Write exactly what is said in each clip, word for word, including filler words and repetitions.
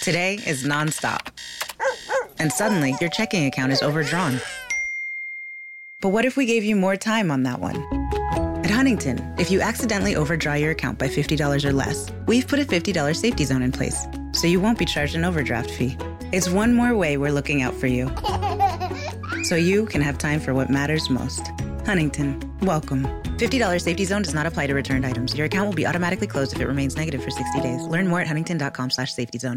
Today is nonstop. And suddenly, your checking account is overdrawn. But what if we gave you more time on that one? At Huntington, if you accidentally overdraw your account by fifty dollars or less, we've put a fifty dollars safety zone in place, so you won't be charged an overdraft fee. It's one more way we're looking out for you, so you can have time for what matters most. Huntington, welcome. fifty dollars safety zone does not apply to returned items. Your account will be automatically closed if it remains negative for sixty days. Learn more at huntington.com slash safety zone.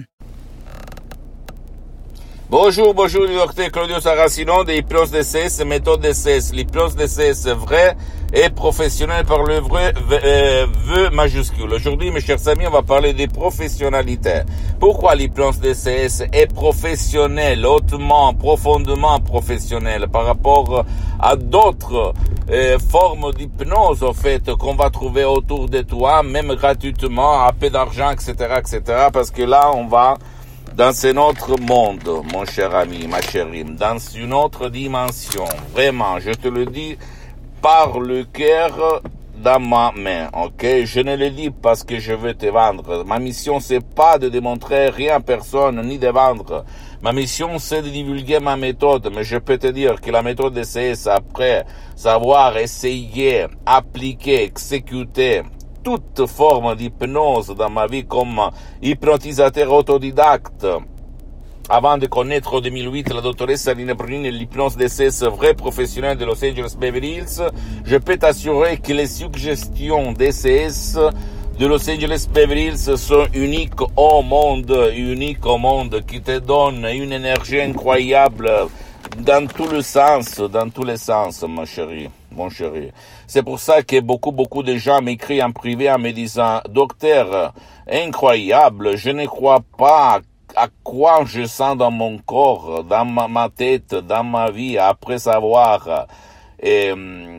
Bonjour, bonjour, docteur Claudio Saracino de l'hypnose D C S, méthode D C S. L'hypnose D C S vraie et professionnelle par le vrai euh, vœu majuscule. Aujourd'hui, mes chers amis, on va parler des professionnalités. Pourquoi l'hypnose D C S est professionnelle, hautement, profondément professionnelle par rapport à d'autres euh, formes d'hypnose, en fait, qu'on va trouver autour de toi, même gratuitement, à peu d'argent, et cetera, et cetera. Parce que là, on va dans un autre monde, mon cher ami, ma chérie, dans une autre dimension, vraiment, je te le dis, par le cœur dans ma main, ok? Je ne le dis parce que je veux te vendre. Ma mission, c'est pas de démontrer rien à personne, ni de vendre. Ma mission, c'est de divulguer ma méthode, mais je peux te dire que la méthode D C S, après savoir essayer, appliquer, exécuter, toute forme d'hypnose dans ma vie comme hypnotisateur autodidacte. Avant de connaître en deux mille huit la doctoresse Rina Brunini et l'hypnose D C S vrai professionnel de Los Angeles Beverly Hills, je peux t'assurer que les suggestions D C S de Los Angeles Beverly Hills sont uniques au monde, uniques au monde, qui te donnent une énergie incroyable dans tous les sens, dans tous les sens, ma chérie, mon chéri. C'est pour ça que beaucoup, beaucoup de gens m'écrivent en privé en me disant, docteur, incroyable, je ne crois pas à quoi je sens dans mon corps, dans ma, ma tête, dans ma vie, après avoir euh,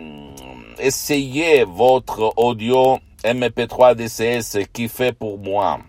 essayé votre audio M P trois D C S qui fait pour moi.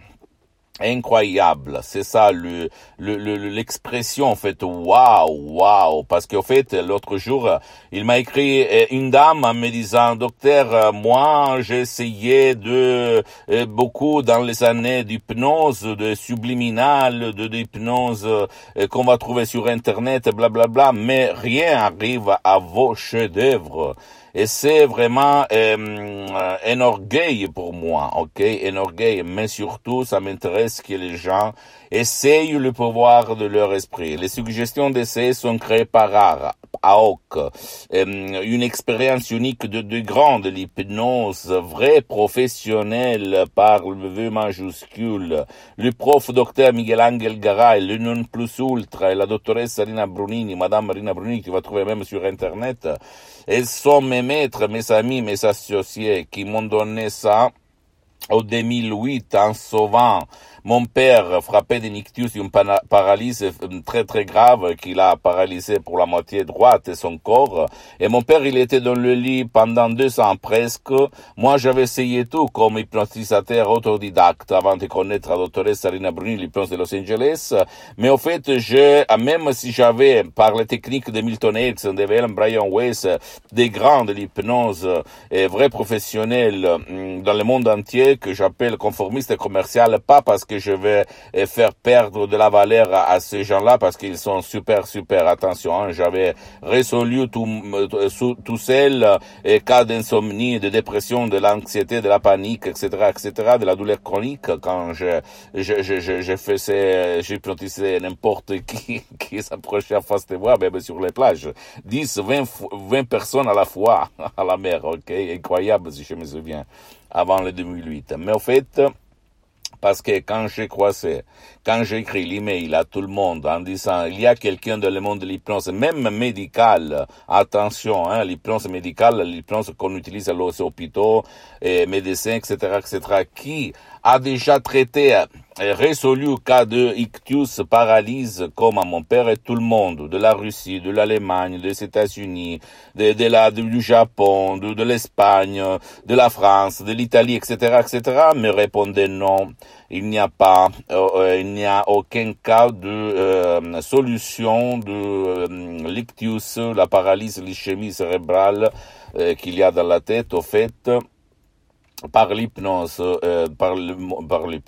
Incroyable, c'est ça le, le, le l'expression en fait. Waouh, waouh, parce qu'en fait l'autre jour il m'a écrit une dame en me disant, docteur, moi j'ai essayé de euh, beaucoup dans les années d'hypnose, de subliminal, de d'hypnose euh, qu'on va trouver sur internet, blablabla, bla, bla, mais rien arrive à vos chefs-d'œuvre. Et c'est vraiment euh, un orgueil pour moi, ok, un orgueil, mais surtout ça m'intéresse que les gens essayent le pouvoir de leur esprit. Les suggestions d'essai sont créées par A O C, euh, une expérience unique de, de grande, l'hypnose vraie professionnelle par le vœu majuscule. Le prof docteur Miguel Angel Garay, le non plus ultra, et la doctoresse Rina Brunini, madame Rina Brunini, tu vas trouver même sur internet. Elles sont mes maîtres, mes amis, mes associés qui m'ont donné ça au deux mille huit en sauvant mon père frappé d'un ictus, une paralysie très très grave qui l'a paralysé pour la moitié droite de son corps. Et mon père, il était dans le lit pendant deux ans presque. Moi, j'avais essayé tout comme hypnotisateur autodidacte avant de connaître la doctoresse Rina Brunini, l'hypnose de Los Angeles. Mais au fait, je, même si j'avais, par les techniques de Milton Erickson, de William Brian Weiss, des grands de l'hypnose et vrais professionnels dans le monde entier que j'appelle conformiste et commercial, pas parce que je vais faire perdre de la valeur à, à ces gens-là, parce qu'ils sont super, super, attention, hein, j'avais résolu tout, tout, tout seul, et cas d'insomnie, de dépression, de l'anxiété, de la panique, et cetera, et cetera, de la douleur chronique, quand je, je, je, je, je faisais, j'hypnotisais n'importe qui, qui s'approchait en face de moi, même sur les plages. dix, vingt, vingt personnes à la fois, à la mer, ok? Incroyable, si je me souviens, avant le deux mille huit. Mais au fait, parce que quand j'ai croisé, quand j'ai écrit l'email à tout le monde en disant, il y a quelqu'un dans le monde de l'hypnose, même médicale, attention, hein, l'hypnose médicale, l'hypnose qu'on utilise à aux hôpitaux, et médecins, et cetera, et cetera, qui a déjà traité et résolu cas de ictus, paralyse, comme à mon père et tout le monde, de la Russie, de l'Allemagne, des États-Unis, de, de la, du Japon, de, de l'Espagne, de la France, de l'Italie, et cetera, et cetera, me répondait non. Il n'y a pas, euh, il n'y a aucun cas de euh, solution de euh, l'ictus, la paralysie, l'ischémie cérébrale euh, qu'il y a dans la tête, au fait, par l'hypnose, euh, par, le, par l'hypnose.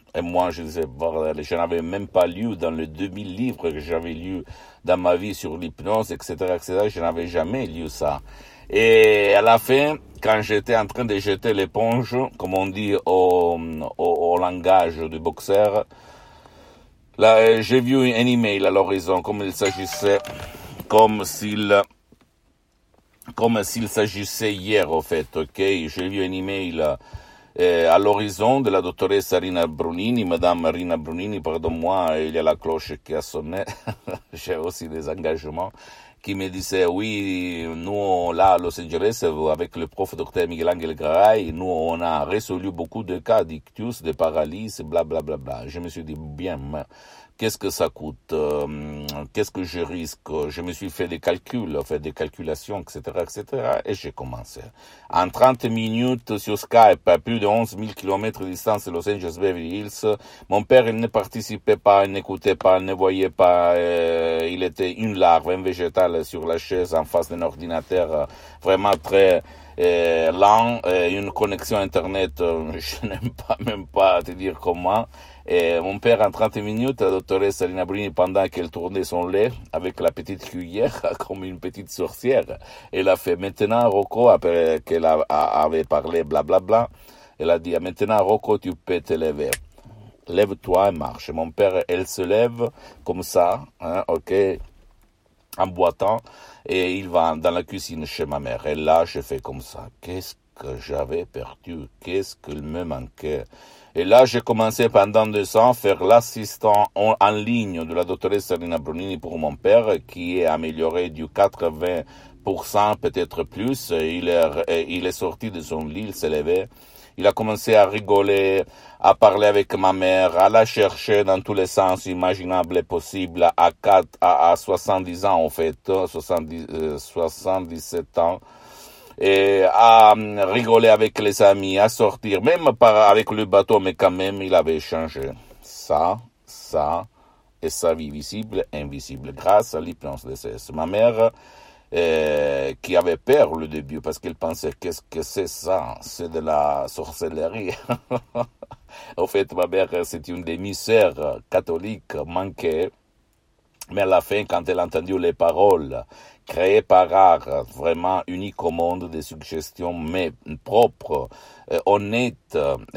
Et moi, je disais, bordel, je n'avais même pas lu dans les deux mille livres que j'avais lus dans ma vie sur l'hypnose, et cetera, et cetera. Je n'avais jamais lu ça. Et à la fin, quand j'étais en train de jeter l'éponge, comme on dit au, au, au langage du boxeur, là, j'ai vu un email à l'horizon, comme il s'agissait, comme s'il, comme s'il s'agissait hier, au fait, ok? J'ai vu un email, Eh, à l'horizon de la dottoressa Rina Brunini, Madame Rina Brunini, pardon-moi, il y a la cloche qui a sonné, j'ai aussi des engagements, qui me disait, oui, nous, là, à Los Angeles, avec le prof docteur Miguel Angel Garay, nous, on a résolu beaucoup de cas d'ictus, de paralysie, bla, bla, bla, bla. Je me suis dit, bien, mais qu'est-ce que ça coûte, euh, qu'est-ce que je risque, je me suis fait des calculs, fait des calculations, et cetera, et cetera, et j'ai commencé. En trente minutes sur Skype, à plus de onze mille kilomètres de distance de Los Angeles Beverly Hills, mon père, il ne participait pas, il n'écoutait pas, il ne voyait pas, euh, il était une larve, un végétal sur la chaise en face d'un ordinateur euh, vraiment très euh, lent, euh, une connexion Internet, euh, je n'aime pas même pas te dire comment. Et mon père, en trente minutes, la doctoresse Rina Brunini, pendant qu'elle tournait son lait avec la petite cuillère, comme une petite sorcière, elle a fait, maintenant, Rocco, après qu'elle a, a, avait parlé, blablabla, bla, bla, elle a dit, maintenant, Rocco, tu peux te lever. Lève-toi et marche. Mon père, elle se lève comme ça, hein, ok, en boitant, et il va dans la cuisine chez ma mère. Et là, je fais comme ça. Qu'est-ce que j'avais perdu? Qu'est-ce qu'il me manquait? Et là, j'ai commencé pendant deux ans à faire l'assistant en, en ligne de la doctoresse Rina Brunini pour mon père, qui est amélioré du quatre-vingts pour cent, peut-être plus. Il est, il est sorti de son lit, il s'est levé. Il a commencé à rigoler, à parler avec ma mère, à la chercher dans tous les sens imaginables et possibles à quatre, à, à soixante-dix ans, en fait, soixante-dix, euh, soixante-dix-sept ans. Et à rigoler avec les amis, à sortir, même par, avec le bateau, mais quand même, il avait changé. Ça, ça, et sa vie visible, invisible, grâce à l'hypnose D C S. Ma mère, euh, qui avait peur au début, parce qu'elle pensait, qu'est-ce que c'est ça? C'est de la sorcellerie. En fait, ma mère, c'est une demi-sœur catholique manquée. Mais à la fin, quand elle a entendu les paroles créées par art, vraiment uniques au monde, des suggestions, mais propres, euh, honnêtes,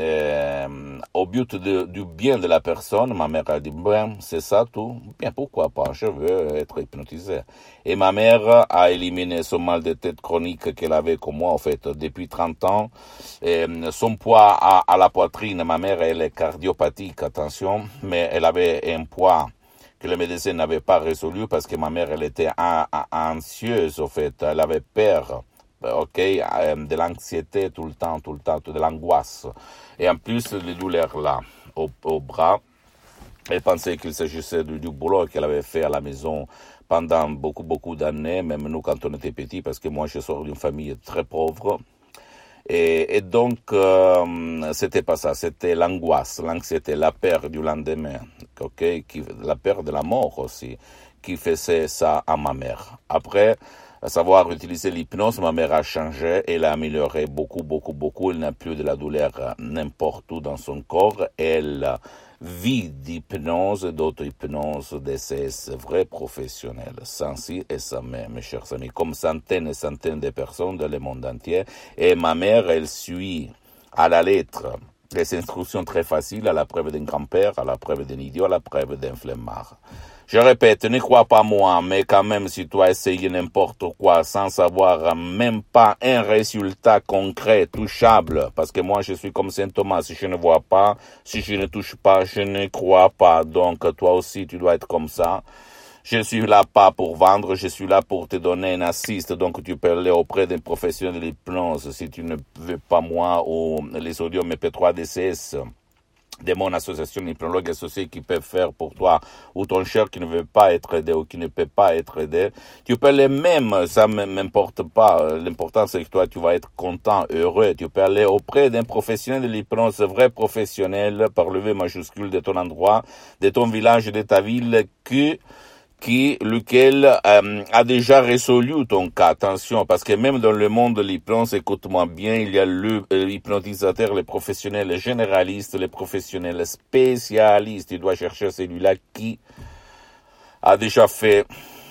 euh, au but de, du bien de la personne, ma mère a dit, ben, c'est ça tout, bien, pourquoi pas, je veux être hypnotisée. Et ma mère a éliminé ce mal de tête chronique qu'elle avait comme moi, en fait, depuis trente ans. Et son poids à, à la poitrine, ma mère, elle est cardiopathique, attention, mais elle avait un poids que le médecin n'avait pas résolu parce que ma mère, elle était anxieuse, au fait. Elle avait peur, ok, de l'anxiété tout le temps, tout le temps, de l'angoisse. Et en plus, les douleurs là, au, au bras, elle pensait qu'il s'agissait du, du boulot qu'elle avait fait à la maison pendant beaucoup, beaucoup d'années, même nous quand on était petits, parce que moi, je sors d'une famille très pauvre. Et, et donc, euh, c'était pas ça, c'était l'angoisse, l'anxiété, la peur du lendemain, ok, qui, la peur de la mort aussi, qui faisait ça à ma mère. Après, à savoir utiliser l'hypnose, ma mère a changé, elle a amélioré beaucoup, beaucoup, beaucoup, elle n'a plus de la douleur n'importe où dans son corps, elle vit d'hypnose, d'auto-hypnose, D C S, vrai professionnel, sans si et sans mais, mes chers amis, comme centaines et centaines de personnes dans le monde entier. Et ma mère, elle suit à la lettre les instructions très faciles, à la preuve d'un grand-père, à la preuve d'un idiot, à la preuve d'un flemmard. Je répète, ne crois pas moi, mais quand même, si tu as essayé n'importe quoi sans savoir même pas un résultat concret, touchable, parce que moi, je suis comme Saint Thomas, si je ne vois pas, si je ne touche pas, je ne crois pas. Donc, toi aussi, tu dois être comme ça. Je suis là pas pour vendre, je suis là pour te donner un assist. Donc, tu peux aller auprès d'un professionnel de l'hypnose si tu ne veux pas moi ou les audios M P trois D C S. De mon association hypnologue associée qui peut faire pour toi, ou ton cher qui ne veut pas être aidé ou qui ne peut pas être aidé, tu peux les mêmes, ça ne m'importe pas. L'important c'est que toi tu vas être content, heureux. Tu peux aller auprès d'un professionnel de l'hypnose, vrai professionnel, par le V majuscule de ton endroit, de ton village, de ta ville, qui qui, lequel euh, a déjà résolu ton cas. Attention, parce que même dans le monde de l'hypnose, écoute-moi bien, il y a le, euh, l'hypnotisateur, les professionnels, les généralistes, les professionnels spécialistes. Tu dois chercher celui-là qui a déjà fait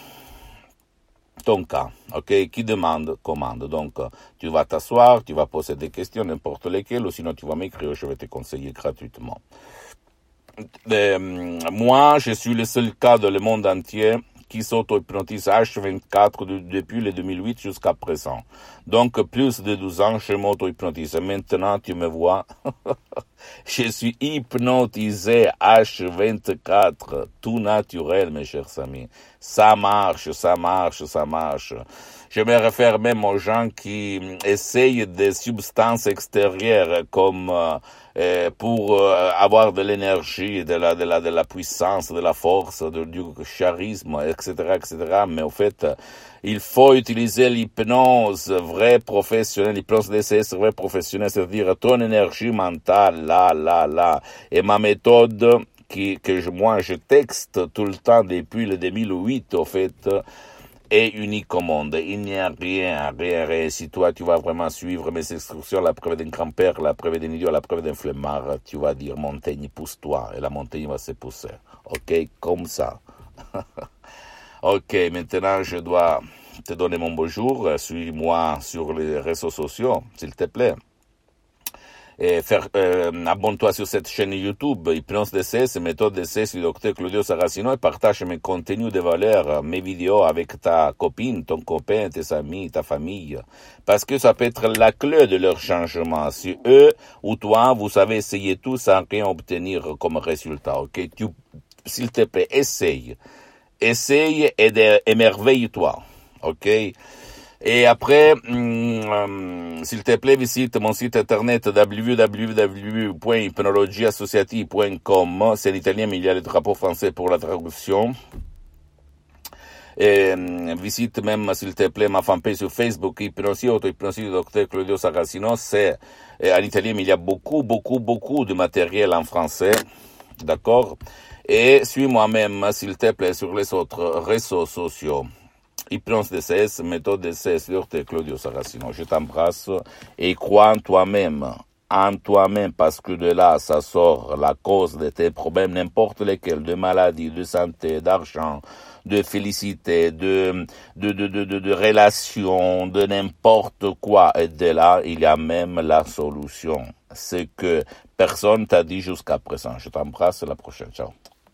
ton cas, ok, qui demande, commande. Donc, tu vas t'asseoir, tu vas poser des questions, n'importe lesquelles, ou sinon tu vas m'écrire, je vais te conseiller gratuitement. Euh, moi, je suis le seul cas dans le monde entier qui s'auto-hypnotise H vingt-quatre de, depuis le deux mille huit jusqu'à présent. Donc, plus de douze ans, je m'auto-hypnotise. Maintenant, tu me vois, je suis hypnotisé H vingt-quatre, tout naturel, mes chers amis. Ça marche, ça marche, ça marche. Je me réfère même aux gens qui essayent des substances extérieures comme euh, pour euh, avoir de l'énergie, de la, de la, de la puissance, de la force, de, du charisme, et cetera, et cetera. Mais au fait, il faut utiliser l'hypnose vraie professionnelle, l'hypnose D C S vraie professionnelle, c'est-à-dire ton énergie mentale, là, là, là. Et ma méthode, qui, que je, moi je texte tout le temps depuis le deux mille huit, au fait, est unique au monde. Il n'y a rien, rien, rien. Si toi, tu vas vraiment suivre mes instructions, la preuve d'un grand-père, la preuve d'un idiot, la preuve d'un flemmard, tu vas dire, montagne, pousse-toi, et la montagne va se pousser. Ok? Comme ça. Ok, maintenant, je dois te donner mon bonjour. Suis-moi sur les réseaux sociaux, s'il te plaît. Et faire, euh, abonne-toi sur cette chaîne YouTube, Hypnose D C S, méthode D C S du docteur Claudio Saracino, et partage mes contenus de valeur, mes vidéos avec ta copine, ton copain, tes amis, ta famille. Parce que ça peut être la clé de leur changement. Si eux ou toi, vous savez essayer tout sans rien obtenir comme résultat, ok? Tu, s'il te plaît, essaye. Essaye et de, émerveille-toi, ok? Et après, hum, s'il te plaît, visite mon site internet w w w point hypnologie associative point com. C'est l'italien, mais il y a le drapeau français pour la traduction. Et hum, visite même, s'il te plaît, ma fanpage sur Facebook, Hypnosie, auto-hypnosie du docteur Claudio Saracino. C'est en italien, mais il y a beaucoup, beaucoup, beaucoup de matériel en français. D'accord? Et suis-moi même, s'il te plaît, sur les autres réseaux sociaux. Hypnose D C S, méthode D C S, docteur Claudio Saracino. Je t'embrasse et crois en toi-même, en toi-même, parce que de là, ça sort la cause de tes problèmes, n'importe lesquels, de maladie, de santé, d'argent, de félicité, de, de, de, de, de, de relations, de n'importe quoi. Et de là, il y a même la solution. C'est que personne t'a dit jusqu'à présent. Je t'embrasse, à la prochaine. Ciao.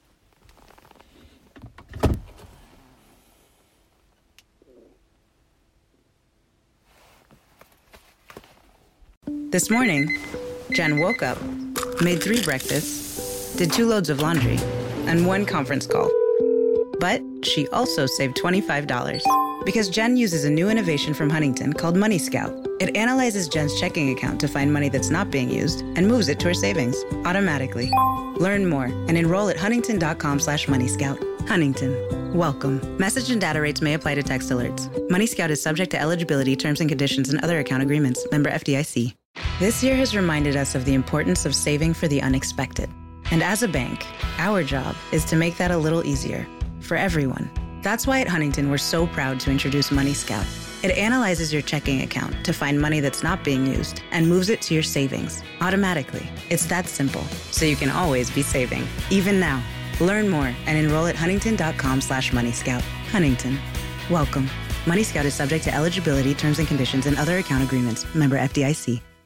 This morning, Jen woke up, made three breakfasts, did two loads of laundry, and one conference call. But she also saved twenty-five dollars because Jen uses a new innovation from Huntington called Money Scout. It analyzes Jen's checking account to find money that's not being used and moves it to her savings automatically. Learn more and enroll at huntington.com slash Money Scout. Huntington. Welcome. Message and data rates may apply to text alerts. Money Scout is subject to eligibility, terms and conditions, and other account agreements. Member F D I C. This year has reminded us of the importance of saving for the unexpected. And as a bank, our job is to make that a little easier for everyone. That's why at Huntington, we're so proud to introduce Money Scout. It analyzes your checking account to find money that's not being used and moves it to your savings automatically. It's that simple, so you can always be saving, even now. Learn more and enroll at huntington.com slash Money Scout. Huntington. Welcome. Money Scout is subject to eligibility, terms and conditions, and other account agreements. Member F D I C.